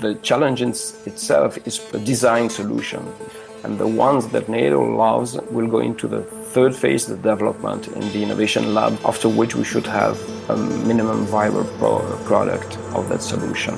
The challenge itself is a design solution. And the ones that NATO loves will go into the third phase, the development in the innovation lab, after which we should have a minimum viable product of that solution.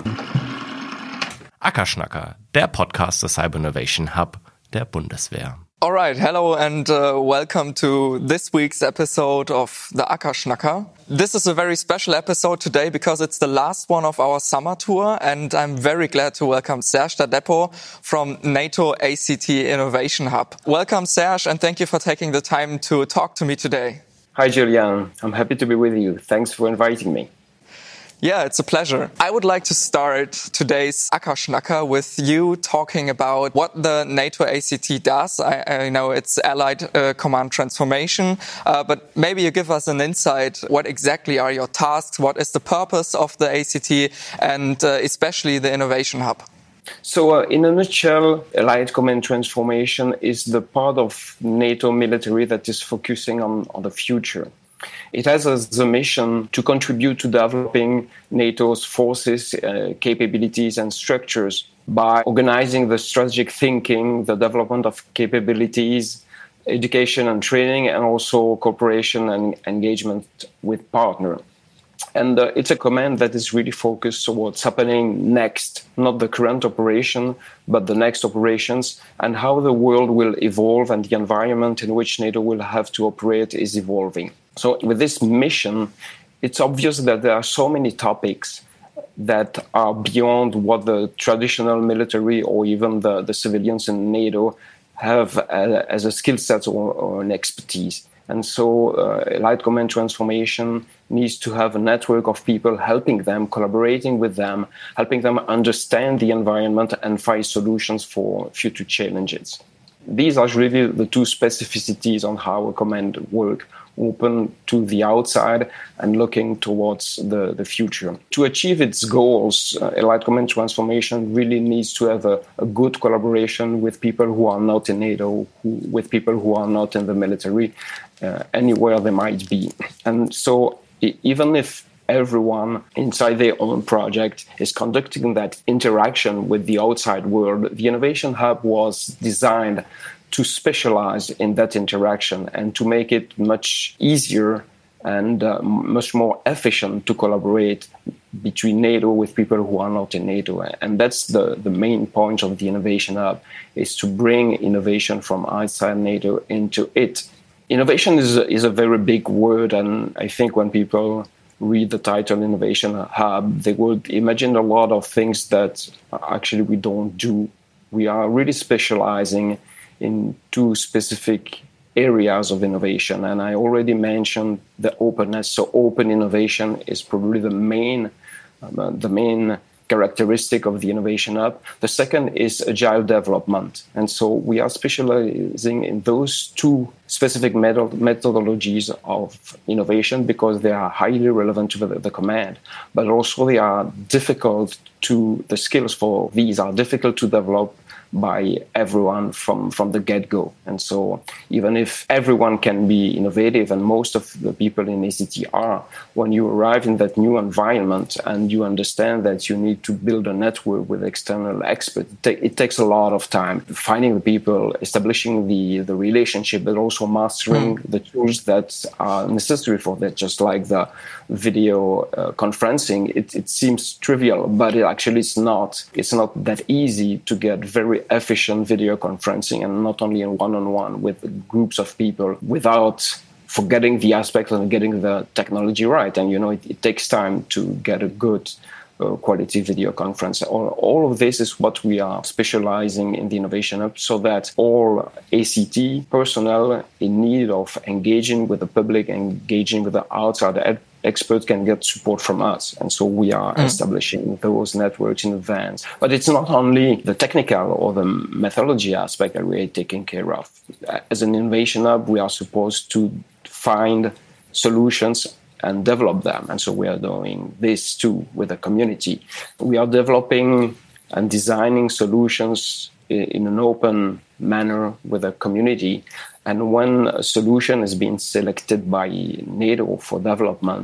Ackerschnacker, der Podcast des Cyber Innovation Hub der Bundeswehr. All right, hello and welcome to this week's episode of the Ackerschnacker. This is a very special episode today because it's the last one of our summer tour, and I'm very glad to welcome Serge Dadepo from NATO ACT Innovation Hub. Welcome, Serge, and thank you for taking the time to talk to me today. Hi, Julian. I'm happy to be with you. Thanks for inviting me. Yeah, it's a pleasure. I would like to start today's Ackerschnacker with you talking about what the NATO ACT does. I know it's Allied Command Transformation, but maybe you give us an insight. What exactly are your tasks? What is the purpose of the ACT and especially the Innovation Hub? So in a nutshell, Allied Command Transformation is the part of NATO military that is focusing on the future. It has as a mission to contribute to developing NATO's forces, capabilities and structures by organizing the strategic thinking, the development of capabilities, education and training, and also cooperation and engagement with partners. And it's a command that is really focused on what's happening next, not the current operation, but the next operations, and how the world will evolve and the environment in which NATO will have to operate is evolving. So with this mission, it's obvious that there are so many topics that are beyond what the traditional military or even the civilians in NATO have as a skill set or an expertise. And so Allied Command Transformation needs to have a network of people helping them, collaborating with them, helping them understand the environment and find solutions for future challenges. These are really the two specificities on how a command works, open to the outside and looking towards the future. To achieve its goals, Allied Command Transformation really needs to have a good collaboration with people who are not in NATO, with people who are not in the military, anywhere they might be. And so even if everyone inside their own project is conducting that interaction with the outside world, the Innovation Hub was designed to specialize in that interaction and to make it much easier and much more efficient to collaborate between NATO with people who are not in NATO. And that's the main point of the Innovation Hub, is to bring innovation from outside NATO into it. Innovation is a very big word, and I think when people read the title Innovation Hub, they would imagine a lot of things that actually we don't do. We are really specializing in two specific areas of innovation. And I already mentioned the openness. So open innovation is probably the main characteristic of the Innovation Hub. The second is agile development. And so we are specializing in those two specific methodologies of innovation because they are highly relevant to the command, but also they are the skills for these are difficult to develop by everyone from the get-go. And so even if everyone can be innovative, and most of the people in ACT are, when you arrive in that new environment and you understand that you need to build a network with external experts, it takes a lot of time. Finding the people, establishing the relationship, but also mastering the tools that are necessary for that, just like the video conferencing. It seems trivial, but it actually is not. It's not that easy to get very efficient video conferencing, and not only in one-on-one with groups of people, without forgetting the aspect and getting the technology right. And it takes time to get a good quality video conference. All of this is what we are specializing in the Innovation Hub, so that all ACT personnel in need of engaging with the public, engaging with the outside experts can get support from us. And so we are establishing those networks in advance. But it's not only the technical or the methodology aspect that we are taking care of. As an Innovation Hub, we are supposed to find solutions and develop them. And so we are doing this too with the community. We are developing and designing solutions in an open manner with the community. And when a solution is being selected by NATO for development,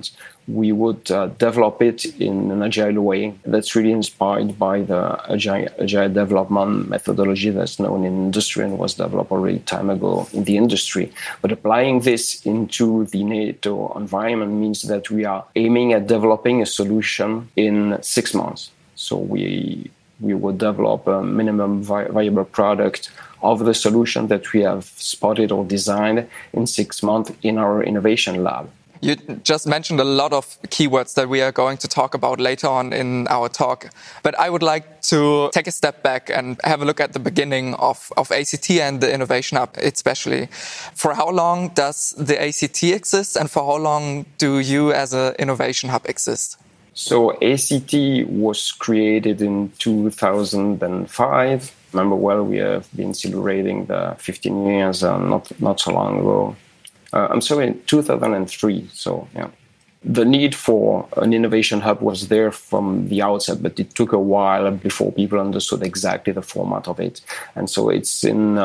we would develop it in an agile way that's really inspired by the agile development methodology that's known in industry and was developed already time ago in the industry. But applying this into the NATO environment means that we are aiming at developing a solution in 6 months. So we would develop a minimum viable product of the solution that we have spotted or designed in 6 months in our innovation lab. You just mentioned a lot of keywords that we are going to talk about later on in our talk. But I would like to take a step back and have a look at the beginning of ACT and the Innovation Hub especially. For how long does the ACT exist, and for how long do you as an Innovation Hub exist? So ACT was created in 2005. Remember well, we have been celebrating the 15 years not so long ago. I'm sorry, in 2003. So, yeah. The need for an innovation hub was there from the outset, but it took a while before people understood exactly the format of it. And so it's in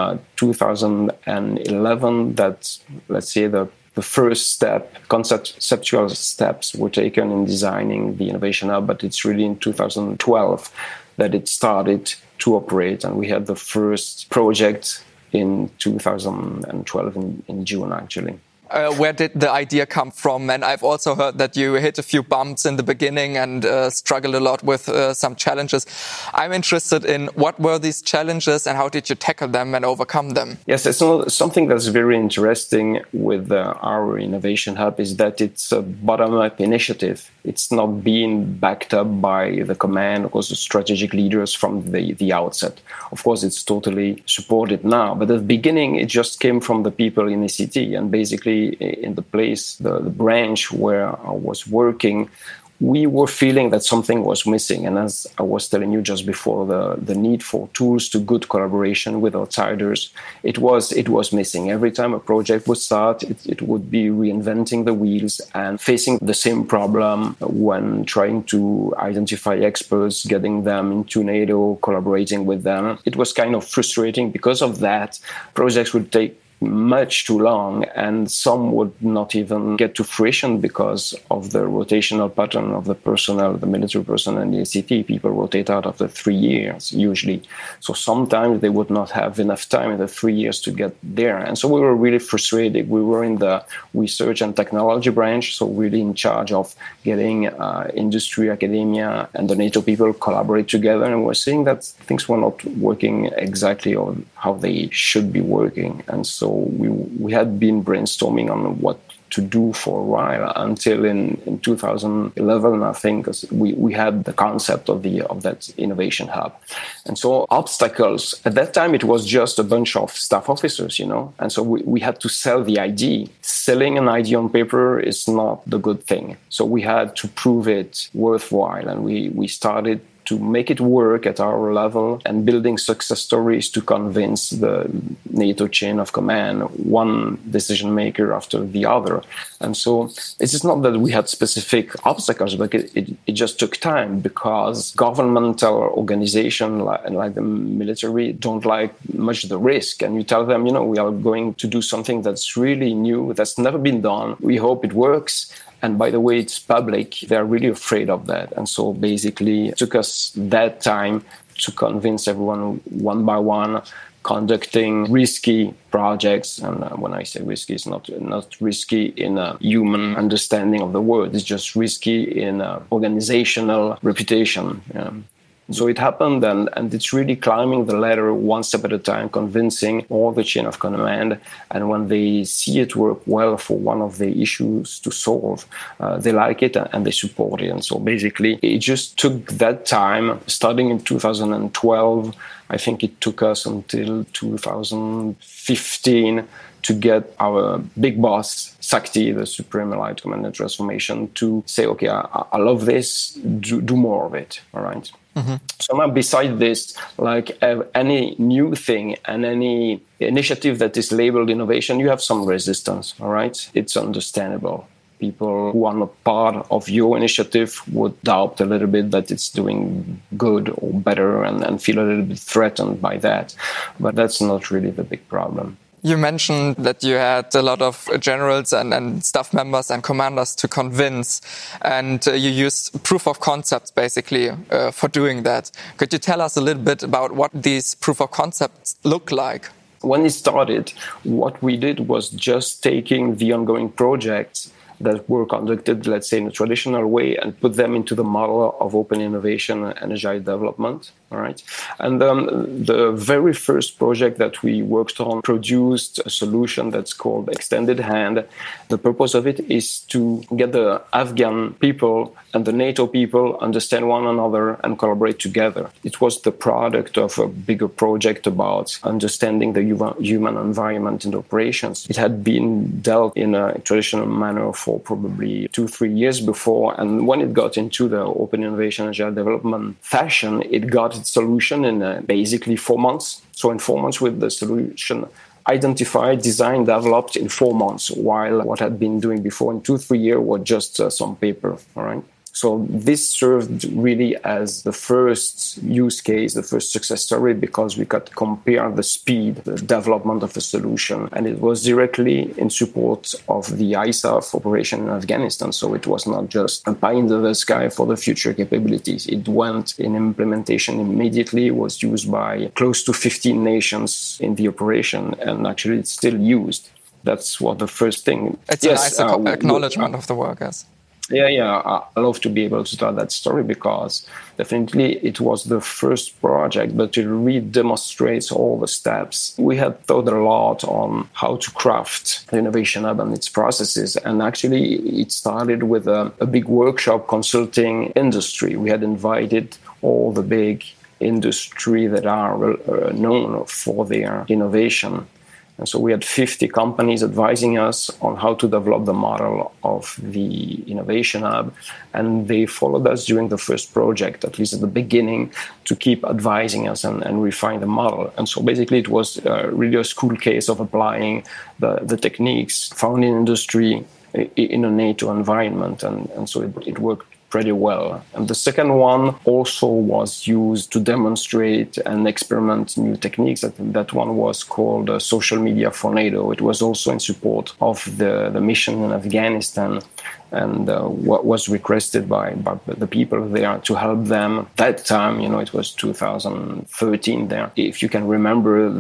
2011 that, let's say, the first step, conceptual steps were taken in designing the innovation hub, but it's really in 2012 that it started to operate. And we had the first project in 2012 in June, actually. Where did the idea come from? And I've also heard that you hit a few bumps in the beginning and struggled a lot with some challenges. I'm interested in what were these challenges and how did you tackle them and overcome them? Yes, it's something that's very interesting with our Innovation Hub is that it's a bottom-up initiative. It's not being backed up by the command or the strategic leaders from the outset. Of course, it's totally supported now, but at the beginning, it just came from the people in ACT, and basically in the place, the branch where I was working, we were feeling that something was missing. And as I was telling you just before, the need for tools to good collaboration with outsiders, it was missing. Every time a project would start, it would be reinventing the wheels and facing the same problem when trying to identify experts, getting them into NATO, collaborating with them. It was kind of frustrating. Because of that, projects would take much too long, and some would not even get to fruition because of the rotational pattern of the personnel, the military personnel and the ACT. People rotate out after 3 years, usually. So sometimes they would not have enough time in the 3 years to get there. And so we were really frustrated. We were in the research and technology branch, so really in charge of getting industry, academia, and the NATO people collaborate together. And we're seeing that things were not working exactly on how they should be working. And so we had been brainstorming on what to do for a while until in 2011, I think, we had the concept of that innovation hub. And so obstacles, at that time, it was just a bunch of staff officers, and so we had to sell the idea. Selling an idea on paper is not the good thing. So we had to prove it worthwhile, and we started to make it work at our level and building success stories to convince the NATO chain of command, one decision maker after the other. And so it is not that we had specific obstacles, but it just took time because governmental organizations like the military don't like much the risk. And you tell them, we are going to do something that's really new, that's never been done. We hope it works. And by the way, it's public. They're really afraid of that. And so basically it took us that time to convince everyone one by one, conducting risky projects. And when I say risky, it's not risky in a human understanding of the word. It's just risky in organizational reputation. So it happened, and it's really climbing the ladder one step at a time, convincing all the chain of command. And when they see it work well for one of the issues to solve, they like it and they support it. And so basically, it just took that time, starting in 2012. I think it took us until 2015 to get our big boss, SACTI, the Supreme Allied Command and Transformation, to say, okay, I love this, do more of it, all right? Mm-hmm. So now beside this, like any new thing and any initiative that is labeled innovation, you have some resistance, all right? It's understandable. People who are not part of your initiative would doubt a little bit that it's doing good or better and feel a little bit threatened by that. But that's not really the big problem. You mentioned that you had a lot of generals and staff members and commanders to convince, and you used proof of concepts basically for doing that. Could you tell us a little bit about what these proof of concepts look like? When it started, what we did was just taking the ongoing projects that were conducted, let's say, in a traditional way and put them into the model of open innovation and agile development. All right. And the very first project that we worked on produced a solution that's called Extended Hand. The purpose of it is to get the Afghan people and the NATO people understand one another and collaborate together. It was the product of a bigger project about understanding the human environment in operations. It had been dealt in a traditional manner for probably 2-3 years before. And when it got into the open innovation agile development fashion, it got its solution in basically 4 months. So in 4 months with the solution identified, designed, developed in 4 months, while what had been doing before in 2-3 years was just some paper. All right. So this served really as the first use case, the first success story, because we could compare the speed, the development of a solution. And it was directly in support of the ISAF operation in Afghanistan. So it was not just a pie in the sky for the future capabilities. It went in implementation immediately, was used by close to 15 nations in the operation, and actually it's still used. That's what the first thing. It's a nice acknowledgement of the work, yes. Yeah, I love to be able to tell that story because definitely it was the first project, but it really demonstrates all the steps. We had thought a lot on how to craft the Innovation Hub and its processes, and actually it started with a big workshop consulting industry. We had invited all the big industry that are known for their innovation. And so we had 50 companies advising us on how to develop the model of the Innovation Hub. And they followed us during the first project, at least at the beginning, to keep advising us and refine the model. And so basically it was really a school case of applying the techniques found in industry in a NATO environment. And so it worked pretty well. And the second one also was used to demonstrate and experiment new techniques. That one was called Social Media for NATO. It was also in support of the mission in Afghanistan, and what was requested by the people there to help them. That time, it was 2013 there. If you can remember,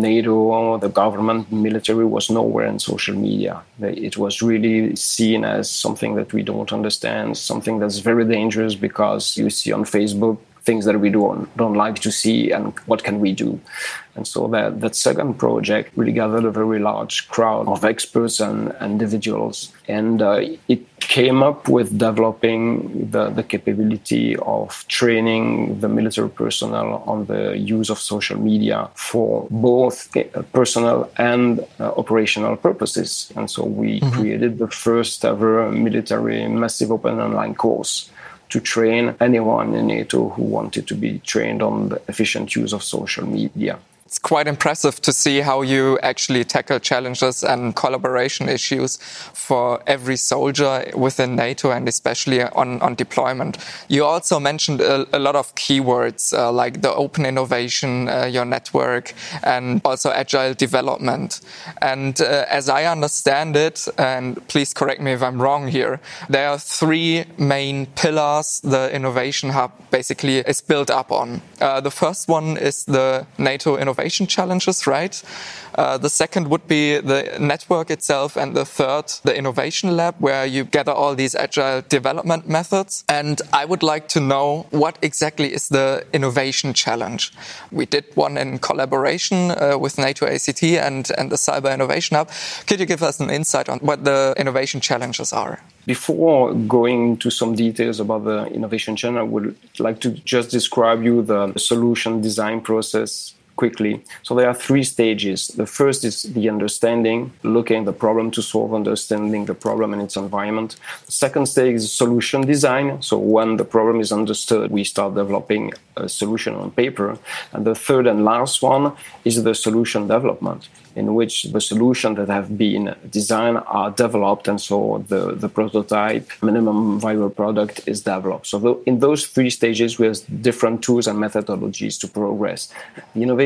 NATO, the government, military was nowhere in social media. It was really seen as something that we don't understand, something that's very dangerous because you see on Facebook things that we don't like to see, and what can we do? And so that second project really gathered a very large crowd of experts and individuals. And it came up with developing the capability of training the military personnel on the use of social media for both personal and operational purposes. And so we created the first ever military massive open online course to train anyone in NATO who wanted to be trained on the efficient use of social media. It's quite impressive to see how you actually tackle challenges and collaboration issues for every soldier within NATO, and especially on deployment. You also mentioned a lot of keywords like the open innovation, your network, and also agile development. And as I understand it, and please correct me if I'm wrong here, there are 3 main pillars the Innovation Hub basically is built up on. The first one is the NATO Innovation Challenges, right? The second would be the network itself, and the third, the Innovation Lab, where you gather all these agile development methods. And I would like to know what exactly is the Innovation Challenge. We did one in collaboration with NATO ACT and the Cyber Innovation Hub. Could you give us an insight on what the Innovation Challenges are? Before going into some details about the Innovation Challenge, I would like to just describe you the solution design process quickly. So there are 3 stages. The first is the understanding, looking at the problem to solve, understanding the problem and its environment. The second stage is solution design. So when the problem is understood, we start developing a solution on paper. And the third and last one is the solution development, in which the solutions that have been designed are developed, and so the prototype, minimum viable product is developed. So in those 3 stages, we have different tools and methodologies to progress. The Innovation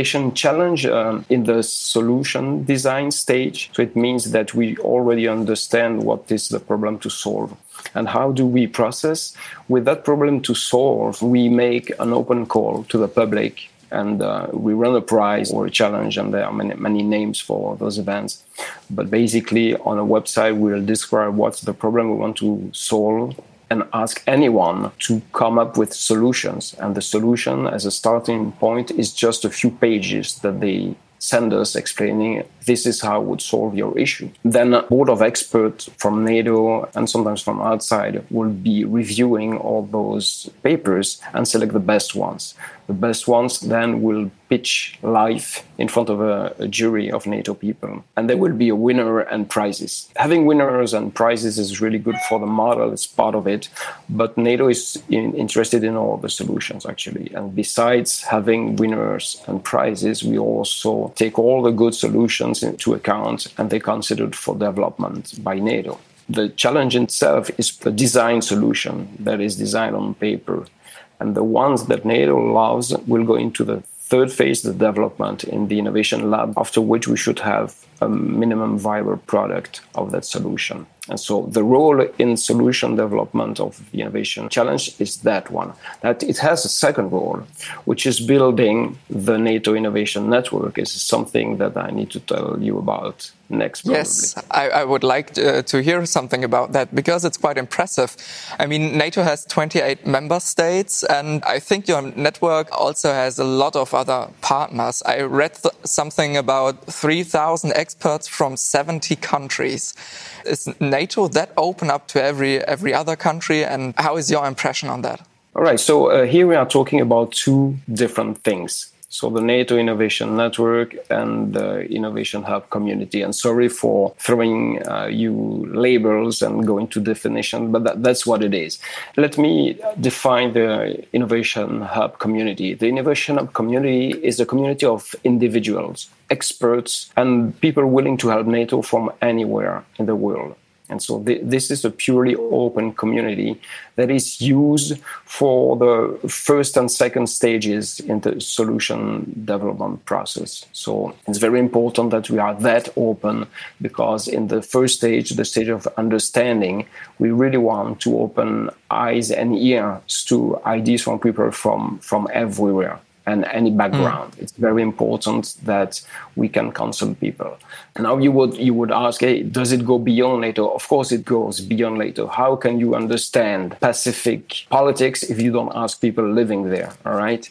innovation challenge in the solution design stage. So it means that we already understand what is the problem to solve. And how do we process? With that problem to solve, we make an open call to the public, and we run a prize or a challenge, and there are many names for those events. But basically, on a website, we'll describe what's the problem we want to solve and ask anyone to come up with solutions. And the solution as a starting point is just a few pages that they send us explaining this is how I would solve your issue. Then a board of experts from NATO and sometimes from outside will be reviewing all those papers and select the best ones. The best ones then will pitch live in front of a jury of NATO people. And there will be a winner and prizes. Having winners and prizes is really good for the model, it's part of it. But NATO is interested in all the solutions, actually. And besides having winners and prizes, we also take all the good solutions into account, and they're considered for development by NATO. The challenge itself is the design solution that is designed on paper. And the ones that NATO loves will go into the third phase, the development in the innovation lab, after which we should have a minimum viable product of that solution. And so the role in solution development of the innovation challenge is that one. That it has a second role, which is building the NATO innovation network. Is something that I need to tell you about next, probably. Yes, I would like to hear something about that, because it's quite impressive. I mean, NATO has 28 member states, and I think your network also has a lot of other partners. I read something about 3,000 experts from 70 countries. Is NATO that open up to every other country, and how is your impression on that? All right, so here we are talking about two different things. So the NATO Innovation Network and the Innovation Hub community. And sorry for throwing you labels and going to definition, but that's what it is. Let me define the Innovation Hub community. The Innovation Hub community is a community of individuals, experts, and people willing to help NATO from anywhere in the world. And so this is a purely open community that is used for the first and second stages in the solution development process. So it's very important that we are that open, because in the first stage, the stage of understanding, we really want to open eyes and ears to ideas from people from everywhere and any background. It's very important that we can consult people. Now you would ask, hey, does it go beyond NATO? Of course it goes beyond NATO. How can you understand Pacific politics if you don't ask people living there, all right?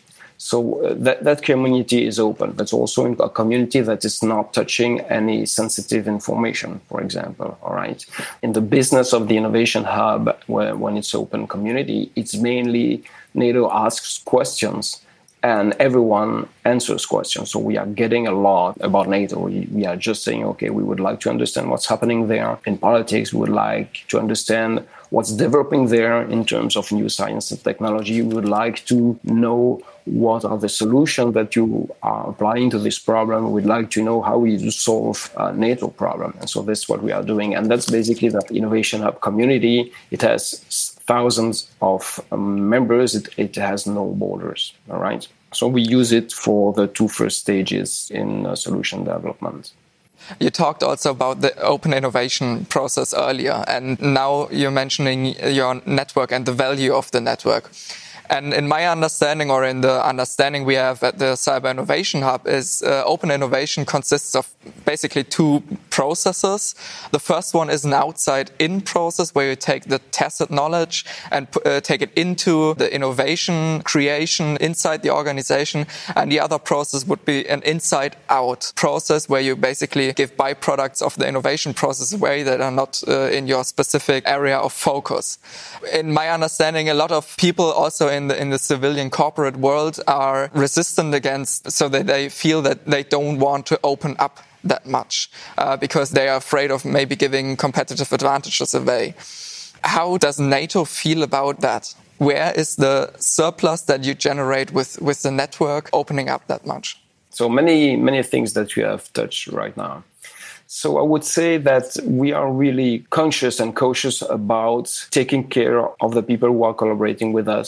So that community is open. That's also a community that is not touching any sensitive information, for example, all right? In the business of the Innovation Hub, when it's open community, it's mainly NATO asks questions, and everyone answers questions. So we are getting a lot about NATO. We are just saying, okay, we would like to understand what's happening there in politics. We would like to understand what's developing there in terms of new science and technology. We would like to know what are the solutions that you are applying to this problem. We'd like to know how we solve a NATO problem. And so that's what we are doing. And that's basically the Innovation Hub community. It has thousands of members. It has no borders, all right? So we use it for the two first stages in solution development. You talked also about the open innovation process earlier, and now you're mentioning your network and the value of the network. And in my understanding, or in the understanding we have at the Cyber Innovation Hub, is open innovation consists of basically two processes. The first one is an outside-in process where you take the tacit knowledge and take it into the innovation creation inside the organization. And the other process would be an inside-out process where you basically give byproducts of the innovation process away that are not in your specific area of focus. In my understanding, a lot of people also in the civilian corporate world are resistant against, so that they feel that they don't want to open up that much because they are afraid of maybe giving competitive advantages away. How does NATO feel about that? Where is the surplus that you generate with the network opening up that much? So many things that you have touched right now. So I would say that we are really conscious and cautious about taking care of the people who are collaborating with us,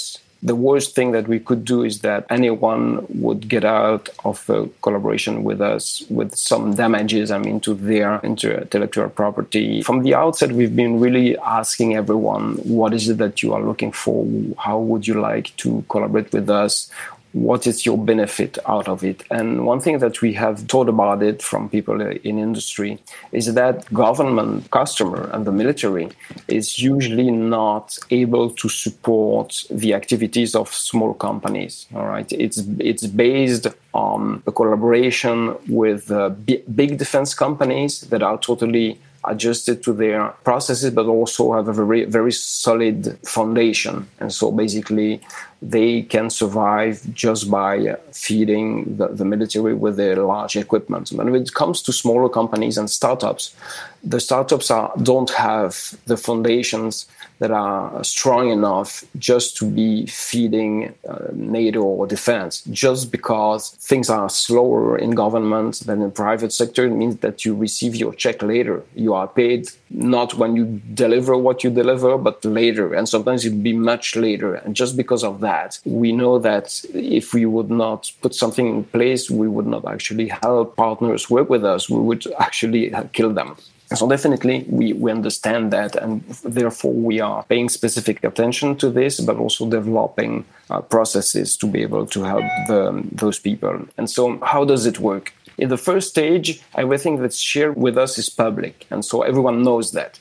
The worst thing that we could do is that anyone would get out of a collaboration with us with some damages, to their intellectual property. From the outset, we've been really asking everyone, what is it that you are looking for? How would you like to collaborate with us? What is your benefit out of it? And one thing that we have thought about it from people in industry is that government customer and the military is usually not able to support the activities of small companies. All right, it's based on a collaboration with big defense companies that are totally adjusted to their processes, but also have a very, very solid foundation. And so basically, they can survive just by feeding the military with their large equipment. But when it comes to smaller companies and startups, the startups don't have the foundations that are strong enough just to be feeding NATO or defense. Just because things are slower in government than in private sector, it means that you receive your check later. You are paid not when you deliver what you deliver, but later. And sometimes it'll be much later. And just because of that, we know that if we would not put something in place, we would not actually help partners work with us. We would actually kill them. So definitely we understand that, and therefore we are paying specific attention to this, but also developing processes to be able to help those people. And so how does it work? In the first stage, everything that's shared with us is public. And so everyone knows that.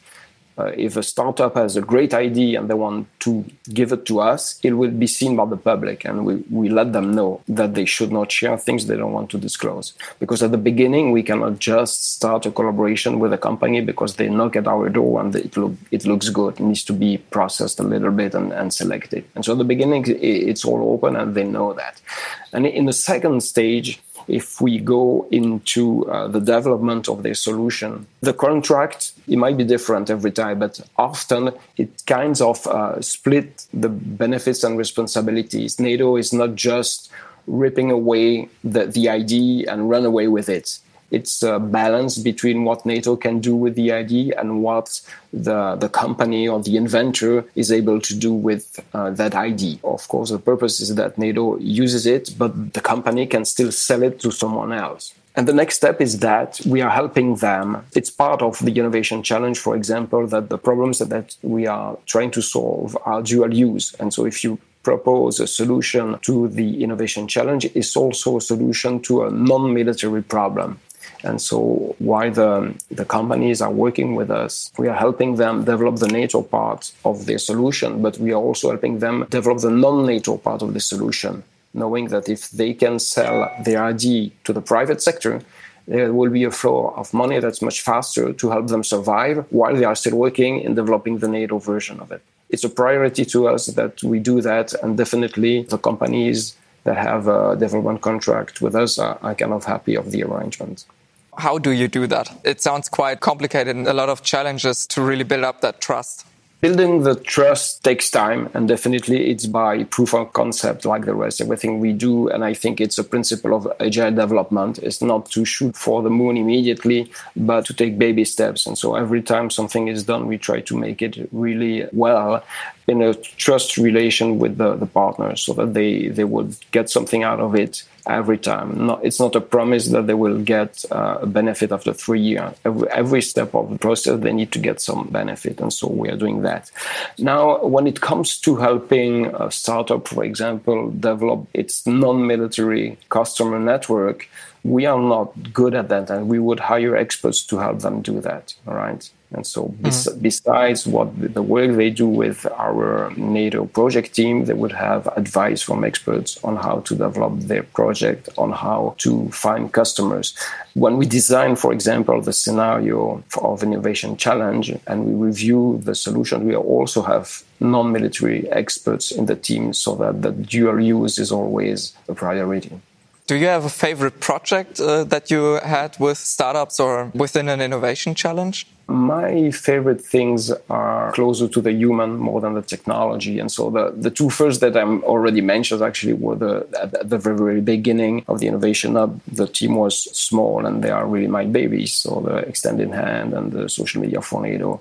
If a startup has a great idea and they want to give it to us, it will be seen by the public. And we let them know that they should not share things they don't want to disclose. Because at the beginning, we cannot just start a collaboration with a company because they knock at our door and it looks good. It needs to be processed a little bit and selected. And so at the beginning, it's all open and they know that. And in the second stage, if we go into the development of their solution, the contract, it might be different every time, but often it kind of split the benefits and responsibilities. NATO is not just ripping away the idea and run away with it. It's a balance between what NATO can do with the idea and what the company or the inventor is able to do with that idea. Of course, the purpose is that NATO uses it, but the company can still sell it to someone else. And the next step is that we are helping them. It's part of the innovation challenge, for example, that the problems that we are trying to solve are dual use. And so if you propose a solution to the innovation challenge, it's also a solution to a non-military problem. And so while the companies are working with us, we are helping them develop the NATO part of their solution, but we are also helping them develop the non-NATO part of the solution, knowing that if they can sell their idea to the private sector, there will be a flow of money that's much faster to help them survive while they are still working in developing the NATO version of it. It's a priority to us that we do that, and definitely the companies that have a development contract with us are kind of happy of the arrangement. How do you do that? It sounds quite complicated and a lot of challenges to really build up that trust. Building the trust takes time, and definitely it's by proof of concept like the rest, everything we do. And I think it's a principle of agile development. It's not to shoot for the moon immediately, but to take baby steps. And so every time something is done, we try to make it really well in a trust relation with the partners so that they would get something out of it every time. It's not a promise that they will get a benefit after 3 years. Every step of the process, they need to get some benefit. And so we are doing that. Now, when it comes to helping a startup, for example, develop its non-military customer network, we are not good at that. And we would hire experts to help them do that. All right. And so besides what the work they do with our NATO project team, they would have advice from experts on how to develop their project, on how to find customers. When we design, for example, the scenario of innovation challenge and we review the solution, we also have non-military experts in the team so that the dual use is always a priority. Do you have a favorite project that you had with startups or within an innovation challenge? My favorite things are closer to the human more than the technology. And so the two first that I'm already mentioned actually were at the very, very beginning of the Innovation Hub. The team was small and they are really my babies. So the Extended Hand and the social media for NATO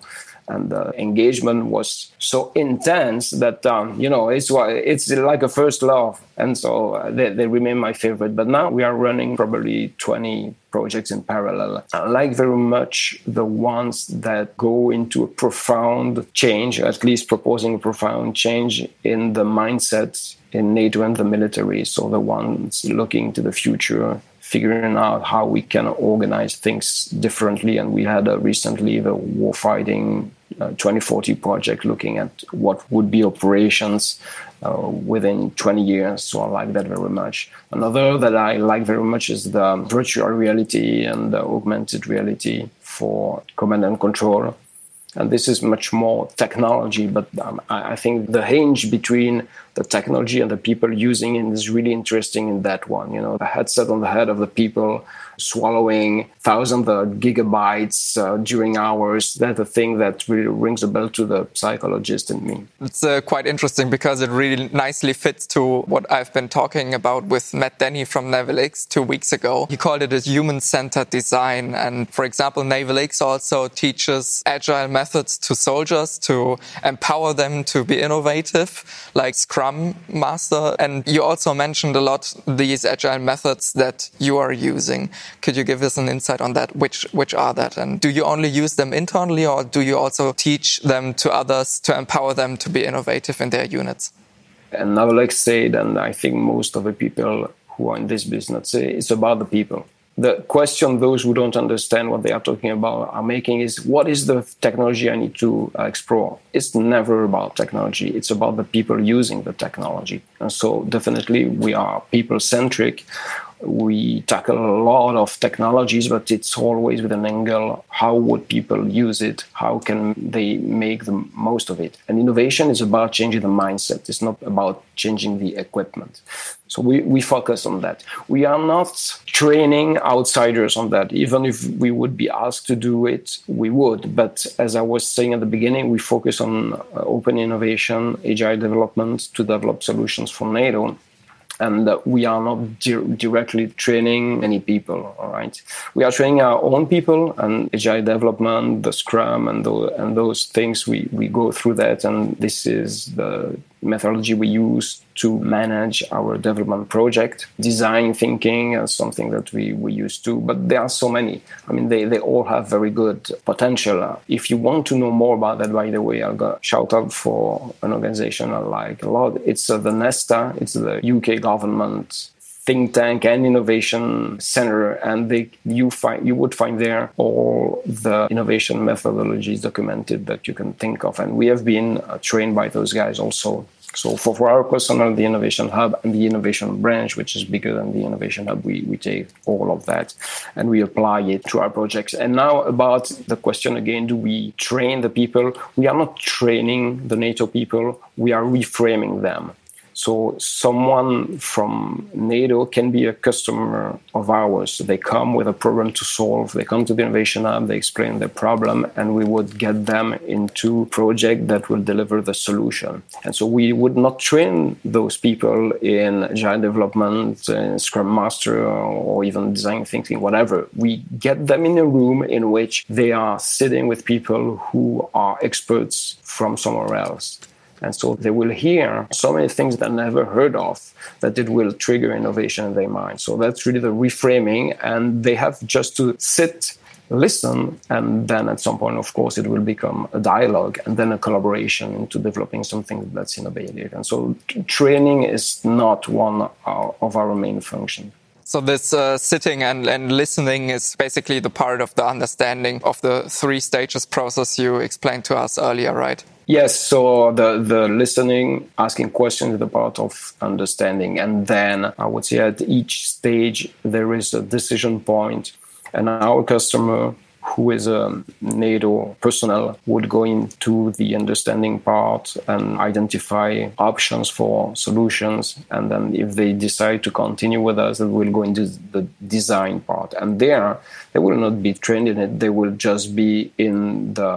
And the engagement was so intense that, it's like a first love. And so they remain my favorite. But now we are running probably 20 projects in parallel. I like very much the ones that go into a profound change, at least proposing a profound change in the mindset in NATO and the military. So the ones looking to the future, figuring out how we can organize things differently. And we had recently the Warfighting 2040 project looking at what would be operations within 20 years. So I like that very much. Another that I like very much is the virtual reality and the augmented reality for command and control. And this is much more technology, but I think the hinge between the technology and the people using it is really interesting in that one. The headset on the head of the people swallowing thousands of gigabytes during hours. That's the thing that really rings a bell to the psychologist in me. It's quite interesting because it really nicely fits to what I've been talking about with Matt Denny from NavalX 2 weeks ago. He called it a human-centered design. And for example, NavalX also teaches agile methods to soldiers to empower them to be innovative, like Scrum Master. And you also mentioned a lot these agile methods that you are using. Could you give us an insight on that? Which are that? And do you only use them internally, or do you also teach them to others to empower them to be innovative in their units? And NavalX said, and I think most of the people who are in this business say, it's about the people. The question those who don't understand what they are talking about are making is, what is the technology I need to explore? It's never about technology. It's about the people using the technology. And so definitely we are people-centric. We tackle a lot of technologies, but it's always with an angle, how would people use it? How can they make the most of it? And innovation is about changing the mindset. It's not about changing the equipment. So we focus on that. We are not training outsiders on that. Even if we would be asked to do it, we would. But as I was saying at the beginning, we focus on open innovation, agile development to develop solutions for NATO. And we are not directly training any people, all right? We are training our own people, and agile development, the Scrum, and those things, we go through that. And this is the methodology we use to manage our development project. Design thinking is something that we use too, but there are so many. I mean, they all have very good potential. If you want to know more about that, by the way, I'll go shout out for an organization I like a lot. It's the Nesta. It's the UK government think tank and innovation center, and you would find there all the innovation methodologies documented that you can think of, and we have been trained by those guys also. So for our personnel, the Innovation Hub and the Innovation Branch, which is bigger than the Innovation Hub, we take all of that and we apply it to our projects. And now about the question again, do we train the people? We are not training the NATO people, we are reframing them. So someone from NATO can be a customer of ours. They come with a problem to solve. They come to the Innovation Hub, they explain their problem, and we would get them into a project that will deliver the solution. And so we would not train those people in agile development, Scrum Master, or even design thinking, whatever. We get them in a room in which they are sitting with people who are experts from somewhere else. And so they will hear so many things that they never heard of, that it will trigger innovation in their mind. So that's really the reframing. And they have just to sit, listen, and then at some point, of course, it will become a dialogue and then a collaboration into developing something that's innovative. And so training is not one of our main functions. So this sitting and listening is basically the part of the understanding of the 3 stages process you explained to us earlier, right? Yes, so the listening, asking questions is the part of understanding. And then I would say at each stage, there is a decision point. And our customer, who is a NATO personnel, would go into the understanding part and identify options for solutions. And then if they decide to continue with us, they will go into the design part. And there, they will not be trained in it. They will just be in the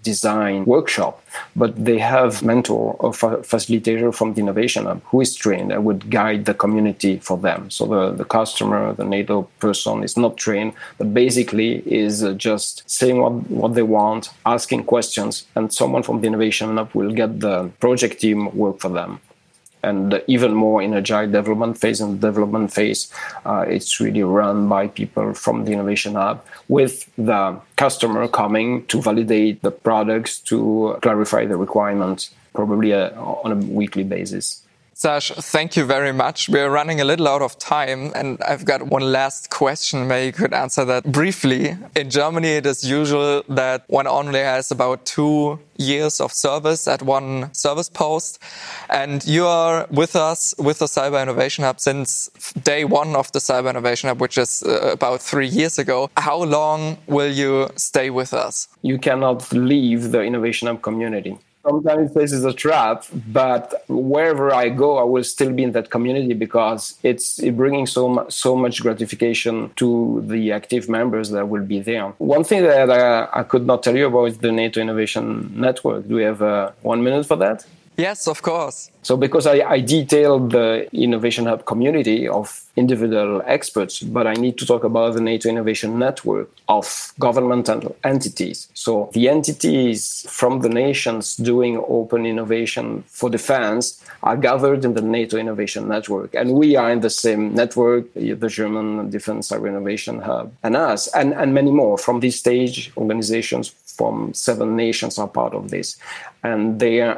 design workshop, but they have mentor or facilitator from the Innovation Hub who is trained and would guide the community for them. So the customer, the NATO person is not trained, but basically is just saying what they want, asking questions, and someone from the Innovation Hub will get the project team work for them. And even more in agile development phase. In the development phase, it's really run by people from the Innovation Hub with the customer coming to validate the products, to clarify the requirements, probably on a weekly basis. Serge, thank you very much. We're running a little out of time, and I've got one last question. Maybe you could answer that briefly. In Germany, it is usual that one only has about 2 years of service at one service post. And you are with us with the Cyber Innovation Hub since day one of the Cyber Innovation Hub, which is about 3 years ago. How long will you stay with us? You cannot leave the Innovation Hub community. Sometimes this is a trap, but wherever I go, I will still be in that community because it's bringing so much gratification to the active members that will be there. One thing that I could not tell you about is the NATO Innovation Network. Do we have 1 minute for that? Yes, of course. So because I detailed the Innovation Hub community of individual experts, but I need to talk about the NATO Innovation Network of governmental entities. So the entities from the nations doing open innovation for defense are gathered in the NATO Innovation Network. And we are in the same network, the German Defense Cyber Innovation Hub, and us, and many more. From this stage, organizations from 7 nations are part of this. And their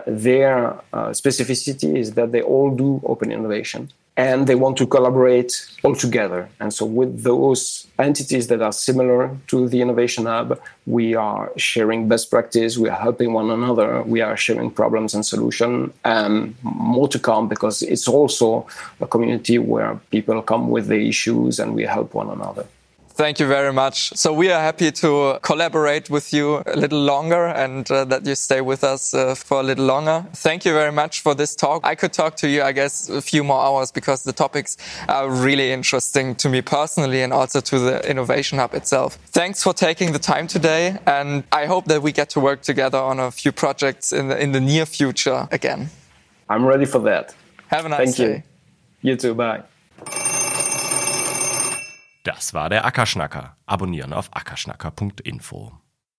specificity is that they all do open innovation and they want to collaborate all together. And so with those entities that are similar to the Innovation Hub, we are sharing best practice, we are helping one another, we are sharing problems and solutions, and more to come because it's also a community where people come with the issues and we help one another. Thank you very much. So we are happy to collaborate with you a little longer and that you stay with us for a little longer. Thank you very much for this talk. I could talk to you, I guess, a few more hours because the topics are really interesting to me personally and also to the Innovation Hub itself. Thanks for taking the time today, and I hope that we get to work together on a few projects in the near future again. I'm ready for that. Have a nice day. Thank you. You too. Bye. Das war der Ackerschnacker. Abonnieren auf ackerschnacker.info.